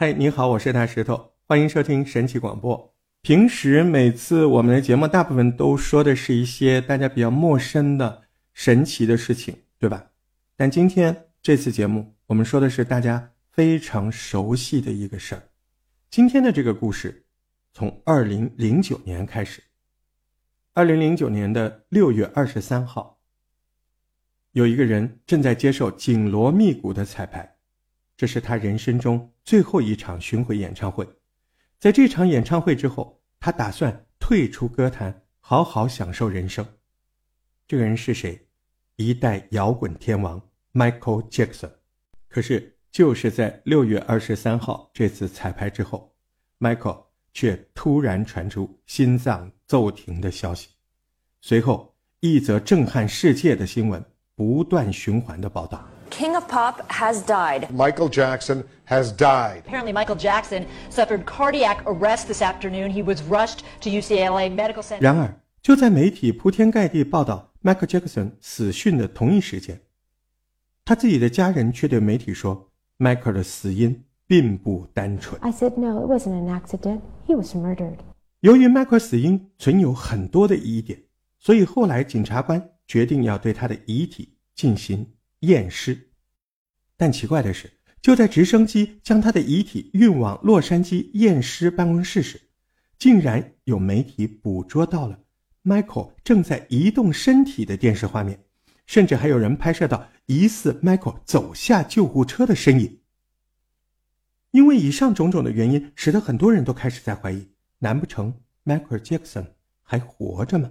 嗨，你好，我是大石头，欢迎收听神奇广播。平时每次我们的节目大部分都说的是一些大家比较陌生的神奇的事情，对吧？但今天这次节目我们说的是大家非常熟悉的一个事儿。今天的这个故事从2009年开始。2009年的6月23号，有一个人正在接受紧锣密鼓的彩排，这是他人生中最后一场巡回演唱会。在这场演唱会之后，他打算退出歌坛，好好享受人生。这个人是谁？一代摇滚天王 Michael Jackson。 可是就是在6月23号这次彩排之后， Michael 却突然传出心脏骤停的消息。随后一则震撼世界的新闻不断循环的报道。 King of Pop has died. Michael Jackson has died. Apparently, Michael Jackson suffered cardiac arrest this afternoon. He was rushed to UCLA Medical Center. 然而，就在媒体铺天盖地报道 Michael Jackson 死讯的同一时间，他自己的家人却对媒体说 Michael 的死因并不单纯。 I said, no, it wasn't an accident. He was murdered. 由于 Michael 死因存有很多的疑点，所以后来检察官决定要对他的遗体进行验尸。但奇怪的是，就在直升机将他的遗体运往洛杉矶验尸办公室时，竟然有媒体捕捉到了 Michael 正在移动身体的电视画面，甚至还有人拍摄到疑似 Michael 走下救护车的身影。因为以上种种的原因，使得很多人都开始在怀疑，难不成 Michael Jackson 还活着吗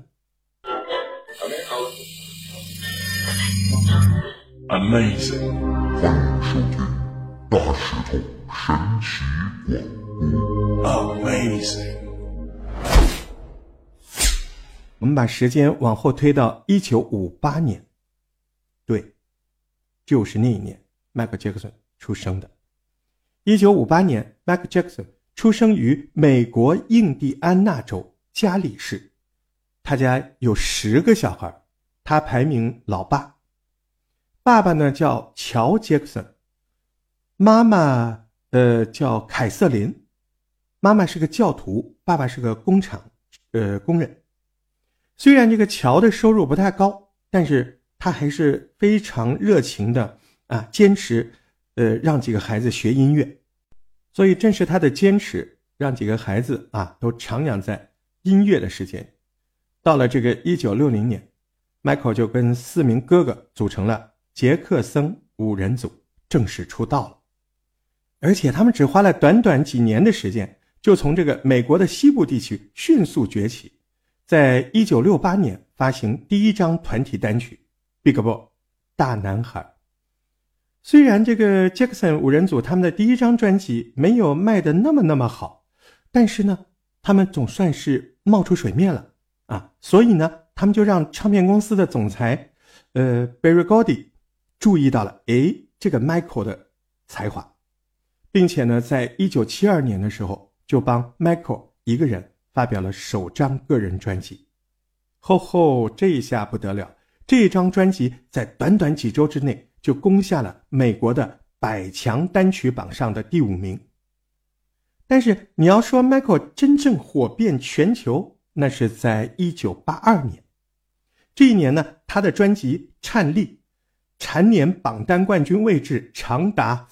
？Amazing， 欢迎收听大石头神奇广播。 Amazing。 我们把时间往后推到1958年，对，就是那一年 Michael Jackson 出生的。1958年 Michael Jackson 出生于美国印第安纳州加里市，他家有10个小孩，他排名老八。爸爸呢叫乔·杰克森，妈妈叫凯瑟琳，妈妈是个教徒，爸爸是个工厂工人。虽然这个乔的收入不太高，但是他还是非常热情的坚持让几个孩子学音乐。所以正是他的坚持让几个孩子都徜徉在音乐的世界。到了这个1960年， Michael 就跟4名哥哥组成了杰克森5人组，正式出道了。而且他们只花了短短几年的时间，就从这个美国的西部地区迅速崛起，在1968年发行第一张团体单曲 Big Boy 大男孩。虽然这个杰克森5人组他们的第一张专辑没有卖得那么好，但是呢他们总算是冒出水面了所以呢他们就让唱片公司的总裁Berry Gordy 注意到了这个 Michael 的才华，并且呢在1972年的时候就帮 Michael 一个人发表了首张个人专辑。这一下不得了，这张专辑在短短几周之内就攻下了美国的100强单曲榜上的第5名。但是你要说 Michael 真正火遍全球，那是在1982年。这一年呢，他的专辑颤栗蝉联榜单冠军位置长达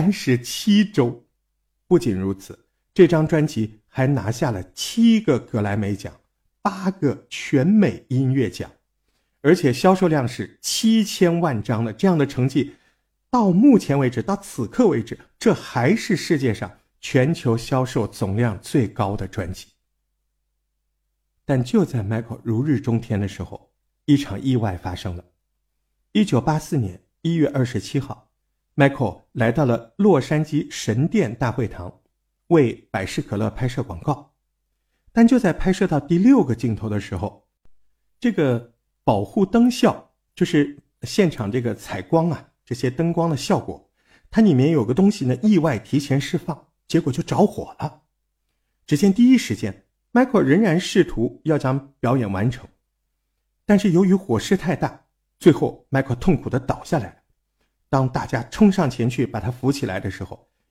37周。不仅如此，这张专辑还拿下了7个格莱美奖，8个全美音乐奖，而且销售量是7000万张的。这样的成绩到目前为止，到此刻为止，这还是世界上全球销售总量最高的专辑。但就在 Michael 如日中天的时候，一场意外发生了。1984年1月27号， Michael 来到了洛杉矶神殿大会堂，为百事可乐拍摄广告。但就在拍摄到第6个镜头的时候，这个保护灯效，就是现场这个采光这些灯光的效果，它里面有个东西呢意外提前释放，结果就着火了。只见第一时间 Michael 仍然试图要将表演完成，但是由于火势太大，最后 Michael 痛苦地倒下来了。当大家冲上前去把他扶起来的时候，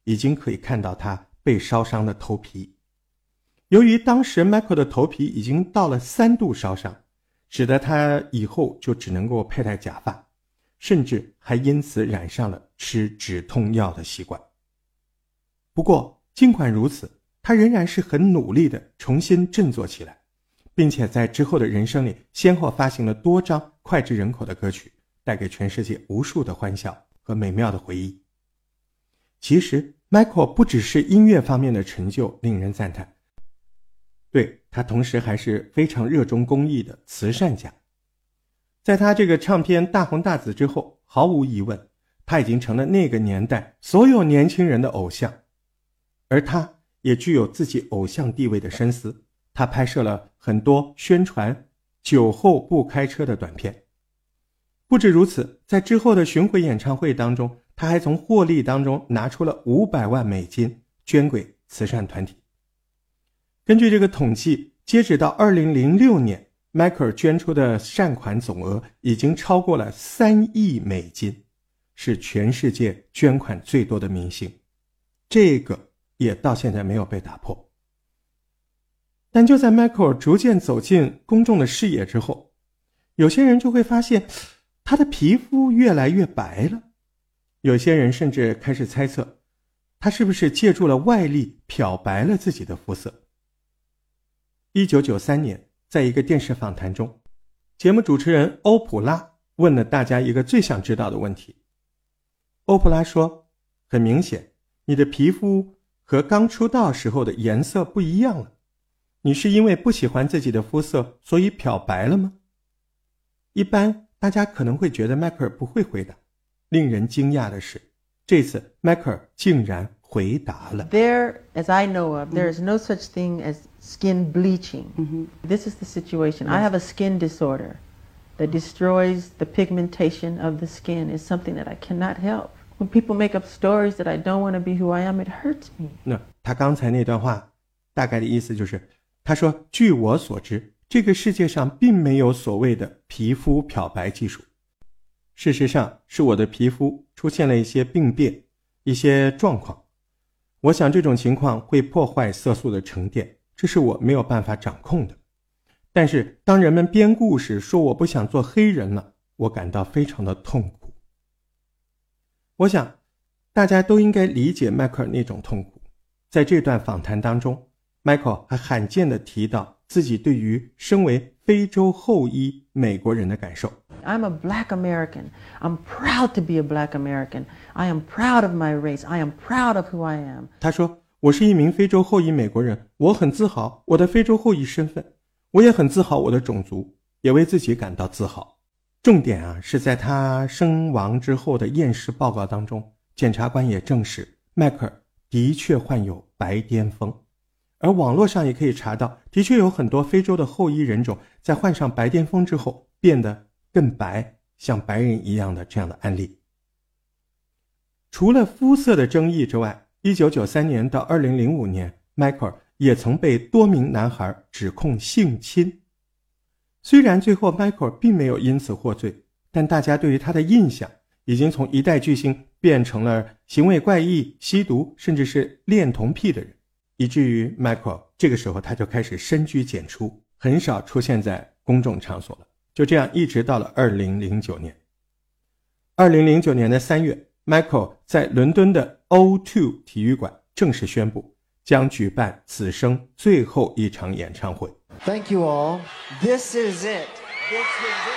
已经可以看到他被烧伤的头皮。由于当时 Michael 的头皮已经到了3度烧伤，使得他以后就只能够佩戴假发，甚至还因此染上了吃止痛药的习惯。不过尽管如此，他仍然是很努力地重新振作起来，并且在之后的人生里先后发行了多张脍炙人口的歌曲，带给全世界无数的欢笑和美妙的回忆。其实 Michael 不只是音乐方面的成就令人赞叹，对，他同时还是非常热衷公益的慈善家。在他这个唱片大红大紫之后，毫无疑问，他已经成了那个年代所有年轻人的偶像。而他也具有自己偶像地位的深思，他拍摄了很多宣传酒后不开车的短片。不止如此，在之后的巡回演唱会当中，他还从获利当中拿出了500万美金捐给慈善团体。根据这个统计，截止到2006年，迈克尔捐出的善款总额已经超过了3亿美金，是全世界捐款最多的明星。这个也到现在没有被打破。但就在迈克尔逐渐走进公众的视野之后，有些人就会发现他的皮肤越来越白了，有些人甚至开始猜测他是不是借助了外力漂白了自己的肤色。1993年，在一个电视访谈中，节目主持人欧普拉问了大家一个最想知道的问题。欧普拉说，很明显，你的皮肤和刚出道时候的颜色不一样了，你是因为不喜欢自己的肤色所以漂白了吗？一般大家可能会觉得迈克尔不会回答，令人惊讶的是，这次迈克尔竟然回答了。 There, as I know of, there is no such thing as skin bleaching. This is the situation. I have a skin disorder that destroys the pigmentation of the skin. It's something that I cannot help. When people make up stories that I don't want to be who I am, it hurts me. 那他刚才那段话大概的意思就是，他说据我所知，这个世界上并没有所谓的皮肤漂白技术，事实上是我的皮肤出现了一些病变，一些状况，我想这种情况会破坏色素的沉淀，这是我没有办法掌控的。但是当人们编故事说我不想做黑人了，我感到非常的痛苦。我想大家都应该理解迈克尔那种痛苦。在这段访谈当中，迈克尔还罕见地提到自己对于身为非洲后裔美国人的感受。 I'm a black American. I'm proud to be a black American. I am proud of my race. I am proud of who I am. 他说，我是一名非洲后裔美国人，我很自豪我的非洲后裔身份，我也很自豪我的种族，也为自己感到自豪。重点是在他身亡之后的验尸报告当中，检察官也证实迈克尔的确患有白癜风，而网络上也可以查到，的确有很多非洲的后裔人种在患上白癜风之后变得更白，像白人一样的这样的案例。除了肤色的争议之外，1993年到2005年，迈克尔也曾被多名男孩指控性侵。虽然最后迈克尔并没有因此获罪，但大家对于他的印象已经从一代巨星变成了行为怪异、吸毒甚至是恋童癖的人，以至于迈克尔这个时候他就开始深居简出，很少出现在公众场所了。就这样一直到了2009年。2009年的3月，迈克尔在伦敦的 O2 体育馆正式宣布将举办此生最后一场演唱会。 Thank you all. This is it. This is it.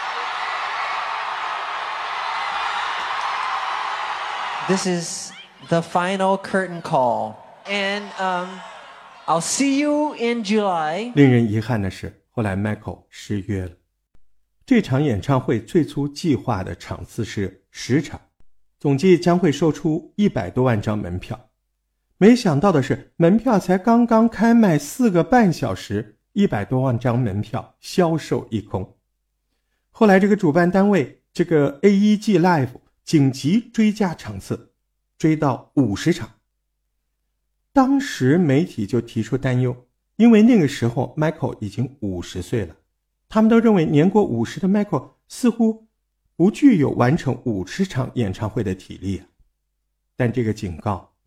This is the final curtain call. And I'll see you in July. 令人遗憾的是，后来 Michael 失约了。这场演唱会最初计划的场次是10场，总计将会售出100多万张门票。没想到的是，门票才刚刚开卖4个半小时，100多万张门票销售一空。后来这个主办单位，这个 AEG Live 紧急追加场次，追到50场。当时媒体就提出担忧，因为那个时候 Michael 已经50岁了，他们都认为年过50的 Michael 似乎不具有完成50场演唱会的体力啊。但这个警告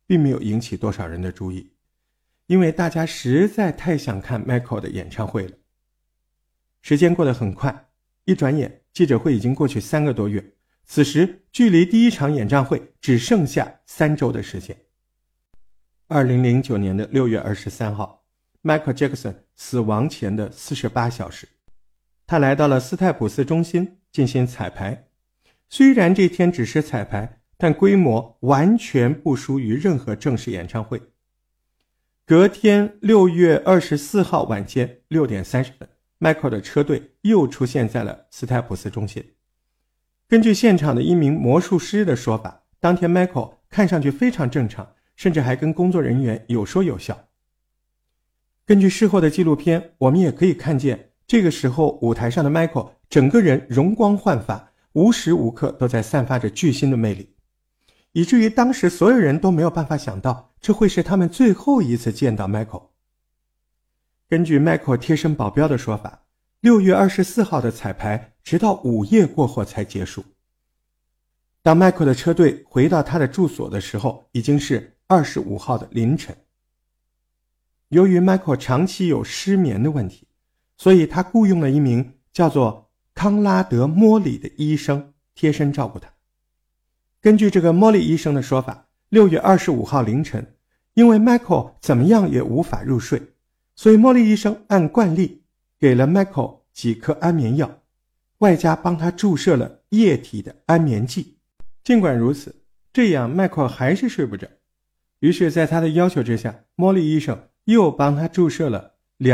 并没有引起多少人的注意，因为大家实在太想看 Michael 的演唱会了。时间过得很快，一转眼记者会已经过去3个多月，此时距离第一场演唱会只剩下3周的时间。2009年的6月23号 Michael Jackson 死亡前的48小时，他来到了斯泰普斯中心进行彩排。虽然这天只是彩排，但规模完全不输于任何正式演唱会。隔天6月24号晚间6点30分 Michael 的车队又出现在了斯泰普斯中心。根据现场的一名魔术师的说法，当天 Michael 看上去非常正常，甚至还跟工作人员有说有笑。根据事后的纪录片，我们也可以看见这个时候舞台上的 Michael 整个人容光焕发，无时无刻都在散发着巨星的魅力，以至于当时所有人都没有办法想到这会是他们最后一次见到 Michael。 根据 Michael 贴身保镖的说法，6月24号的彩排直到午夜过后才结束。当 Michael 的车队回到他的住所的时候，已经是25号的凌晨。由于 Michael 长期有失眠的问题，所以他雇佣了一名叫做康拉德·莫里的医生贴身照顾他。根据这个莫里医生的说法，6月25号凌晨，因为 Michael 怎么样也无法入睡，所以莫里医生按惯例给了 Michael 几颗安眠药，外加帮他注射了液体的安眠剂。尽管如此，这样 Michael 还是睡不着。于是在他的要求之下，莫里医生又帮他注射了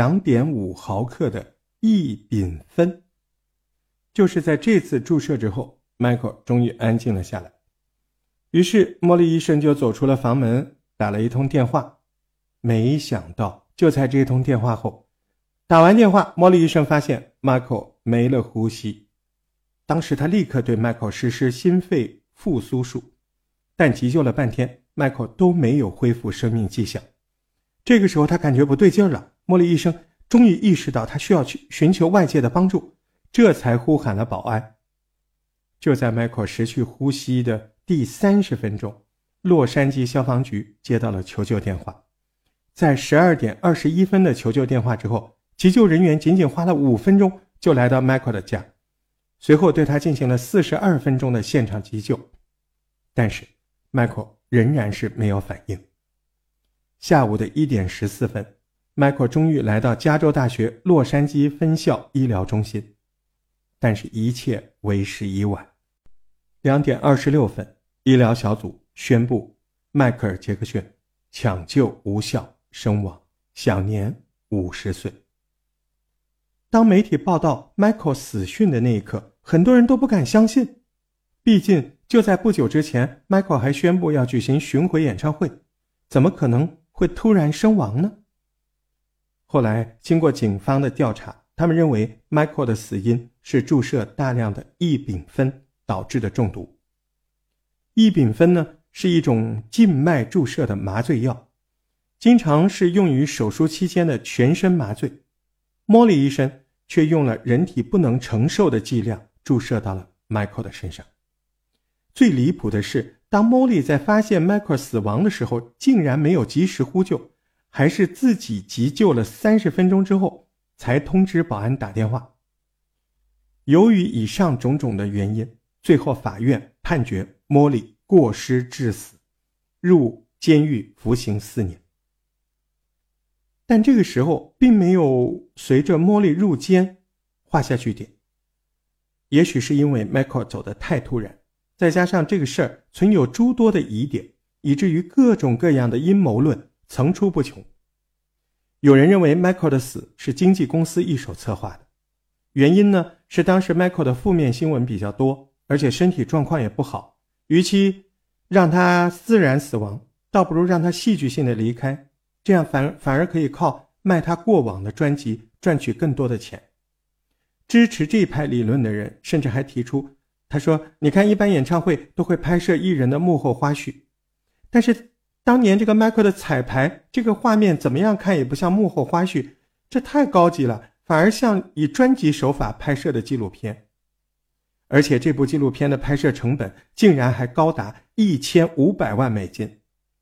2.5 毫克的异丙酚。就是在这次注射之后， Michael 终于安静了下来。于是莫里医生就走出了房门，打了一通电话。没想到就在这通电话后，打完电话，莫里医生发现 Michael 没了呼吸。当时他立刻对 Michael 实施心肺复苏术，但急救了半天， Michael 都没有恢复生命迹象。这个时候他感觉不对劲了，莫里医生终于意识到他需要去寻求外界的帮助，这才呼喊了保安。就在 Michael 失去呼吸的第30分钟，洛杉矶消防局接到了求救电话。在12点21分的求救电话之后，急救人员仅仅花了5分钟就来到 Michael 的家，随后对他进行了42分钟的现场急救。但是 Michael 仍然是没有反应。下午的1点14分 Michael 终于来到加州大学洛杉矶分校医疗中心，但是一切为时已晚。2点26分，医疗小组宣布迈克尔·杰克逊抢救无效身亡，享年50岁。当媒体报道 Michael 死讯的那一刻，很多人都不敢相信。毕竟就在不久之前， Michael 还宣布要举行巡回演唱会，怎么可能会突然身亡呢？后来经过警方的调查，他们认为 Michael 的死因是注射大量的异丙酚导致的中毒。异丙酚呢，是一种静脉注射的麻醉药，经常是用于手术期间的全身麻醉。莫里医生却用了人体不能承受的剂量注射到了 Michael 的身上。最离谱的是，当莫里在发现 Michael 死亡的时候，竟然没有及时呼救，还是自己急救了30分钟之后才通知保安打电话。由于以上种种的原因，最后法院判决莫里过失致死，入监狱服刑4年。但这个时候并没有随着莫里入监画下句点。也许是因为 Michael 走得太突然，再加上这个事儿存有诸多的疑点，以至于各种各样的阴谋论层出不穷。有人认为 Michael 的死是经纪公司一手策划的，原因呢是当时 Michael 的负面新闻比较多，而且身体状况也不好，与其让他自然死亡，倒不如让他戏剧性的离开，这样反而可以靠卖他过往的专辑赚取更多的钱。支持这一派理论的人甚至还提出，他说你看一般演唱会都会拍摄艺人的幕后花絮，但是当年这个 Michael 的彩排，这个画面怎么样看也不像幕后花絮，这太高级了，反而像以专辑手法拍摄的纪录片。而且这部纪录片的拍摄成本竟然还高达1500万美金。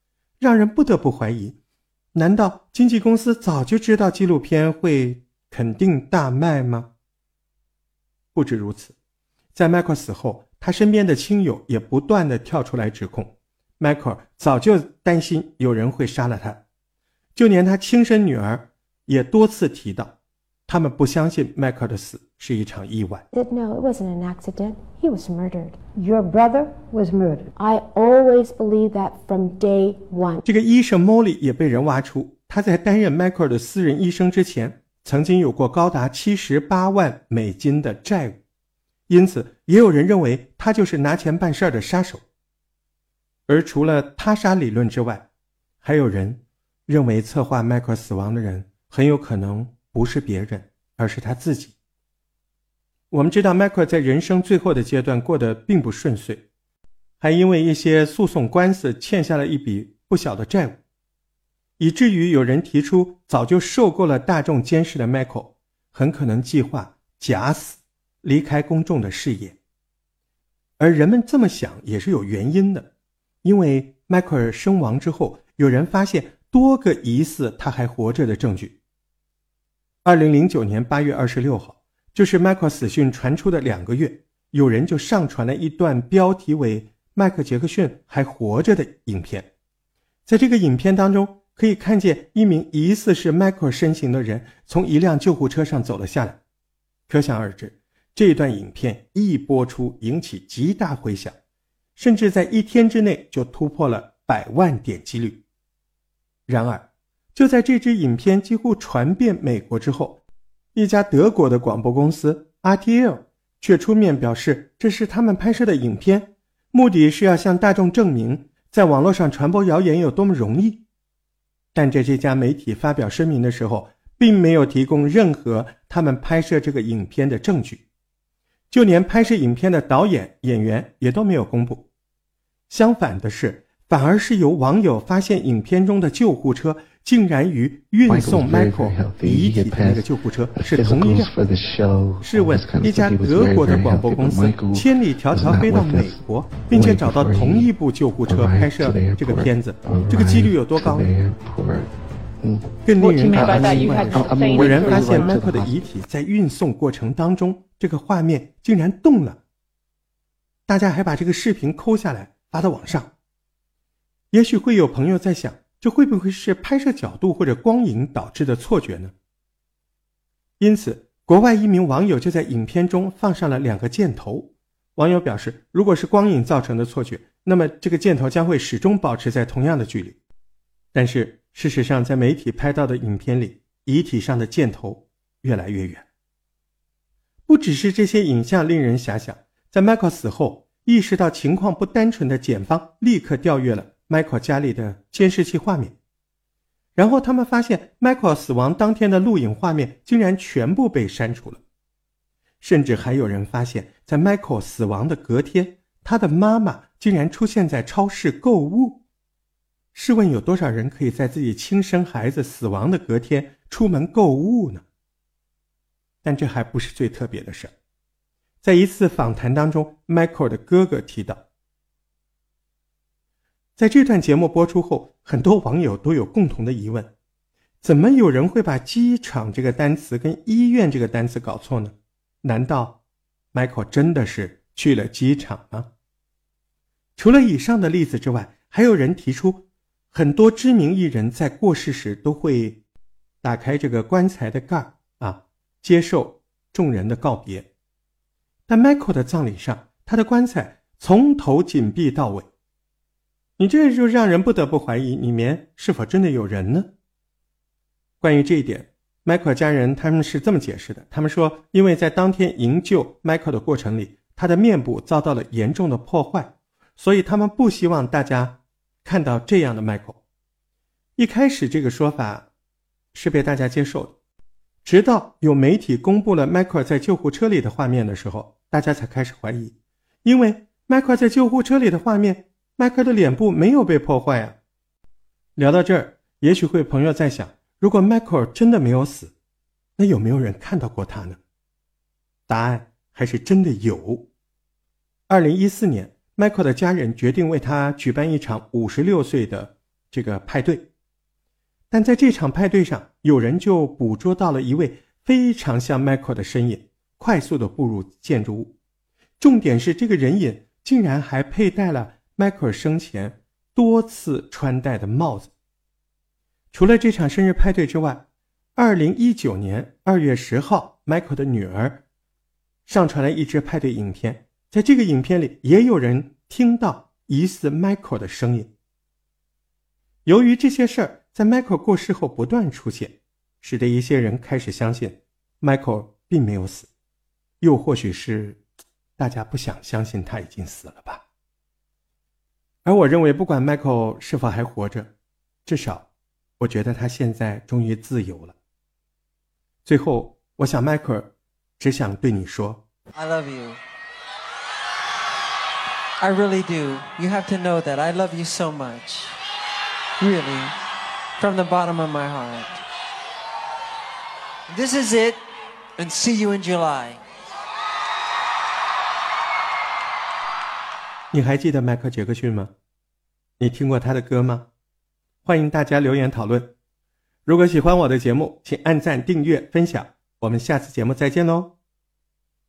让人不得不怀疑，难道经纪公司早就知道纪录片会肯定大卖吗？不止如此，在迈克尔死后，他身边的亲友也不断地跳出来指控，迈克尔早就担心有人会杀了他，就连他亲生女儿也多次提到，他们不相信迈克尔的死是一场意外。 No, it wasn't an accident. He was murdered. Your brother was murdered. I always believed that from day one. 这个医生 Molly 也被人挖出，他在担任迈克尔的私人医生之前，曾经有过高达78万美金的债务，因此也有人认为他就是拿钱办事的杀手。而除了他杀理论之外，还有人认为策划迈克尔死亡的人很有可能不是别人，而是他自己。我们知道迈克尔在人生最后的阶段过得并不顺遂，还因为一些诉讼官司欠下了一笔不小的债务，以至于有人提出早就受够了大众监视的迈克尔很可能计划假死，离开公众的视野。而人们这么想也是有原因的，因为迈克尔身亡之后，有人发现多个疑似他还活着的证据。2009年8月26号，就是迈克尔死讯传出的2个月，有人就上传了一段标题为迈克杰克逊还活着的影片。在这个影片当中，可以看见一名疑似是迈克尔身形的人从一辆救护车上走了下来。可想而知，这段影片一播出引起极大回响，甚至在1天之内就突破了100万点击率。然而，就在这支影片几乎传遍美国之后，一家德国的广播公司 RTL 却出面表示，这是他们拍摄的影片，目的是要向大众证明在网络上传播谣言有多么容易。但在这家媒体发表声明的时候，并没有提供任何他们拍摄这个影片的证据，就连拍摄影片的导演、演员也都没有公布。相反的是，反而是由网友发现影片中的救护车竟然与运送 Michael 遗体的那个救护车是同一辆。试问，一家德国的广播公司千里迢迢飞到美国，并且找到同一部救护车拍摄这个片子，这个几率有多高呢？更令人感到意外，有人发现 Michael 的遗体在运送过程当中，这个画面竟然动了。大家还把这个视频抠下来发到网上。也许会有朋友在想，这会不会是拍摄角度或者光影导致的错觉呢？因此，国外一名网友就在影片中放上了2个箭头。网友表示，如果是光影造成的错觉，那么这个箭头将会始终保持在同样的距离。但是事实上，在媒体拍到的影片里，遗体上的箭头越来越远。不只是这些影像令人遐想，在 Michael 死后，意识到情况不单纯的检方立刻调阅了 Michael 家里的监视器画面，然后他们发现 Michael 死亡当天的录影画面竟然全部被删除了。甚至还有人发现，在 Michael 死亡的隔天，他的妈妈竟然出现在超市购物。试问有多少人可以在自己亲生孩子死亡的隔天出门购物呢？但这还不是最特别的事。在一次访谈当中， Michael 的哥哥提到，在这段节目播出后，很多网友都有共同的疑问，怎么有人会把机场这个单词跟医院这个单词搞错呢？难道 Michael 真的是去了机场吗？除了以上的例子之外，还有人提出，很多知名艺人在过世时都会打开这个棺材的盖接受众人的告别。但 Michael 的葬礼上，他的棺材从头紧闭到尾。你这就让人不得不怀疑里面是否真的有人呢？关于这一点， Michael 家人他们是这么解释的，他们说，因为在当天营救 Michael 的过程里，他的面部遭到了严重的破坏，所以他们不希望大家看到这样的 Michael。 一开始这个说法是被大家接受的，直到有媒体公布了 Michael 在救护车里的画面的时候，大家才开始怀疑，因为 Michael 在救护车里的画面，Michael 的脸部没有被破坏啊。聊到这儿，也许会朋友在想，如果 Michael 真的没有死，那有没有人看到过他呢？答案还是真的有。2014年， Michael 的家人决定为他举办一场56岁的这个派对。但在这场派对上，有人就捕捉到了一位非常像 Michael 的身影，快速地步入建筑物。重点是这个人影竟然还佩戴了 Michael 生前多次穿戴的帽子。除了这场生日派对之外，2019年2月10号 Michael 的女儿上传了一支派对影片，在这个影片里也有人听到疑似 Michael 的声音。由于这些事儿在 Michael 过世后不断出现，使得一些人开始相信 Michael 并没有死，又或许是大家不想相信他已经死了吧。而我认为不管 Michael 是否还活着，至少我觉得他现在终于自由了。最后我想 Michael 只想对你说 I love you. I really do. You have to know that I love you so much. Really. From the bottom of my heart. This is it. And see you in July. 你还记得迈克·杰克逊吗？你听过他的歌吗？欢迎大家留言讨论。如果喜欢我的节目，请按赞、订阅、分享。我们下次节目再见喽。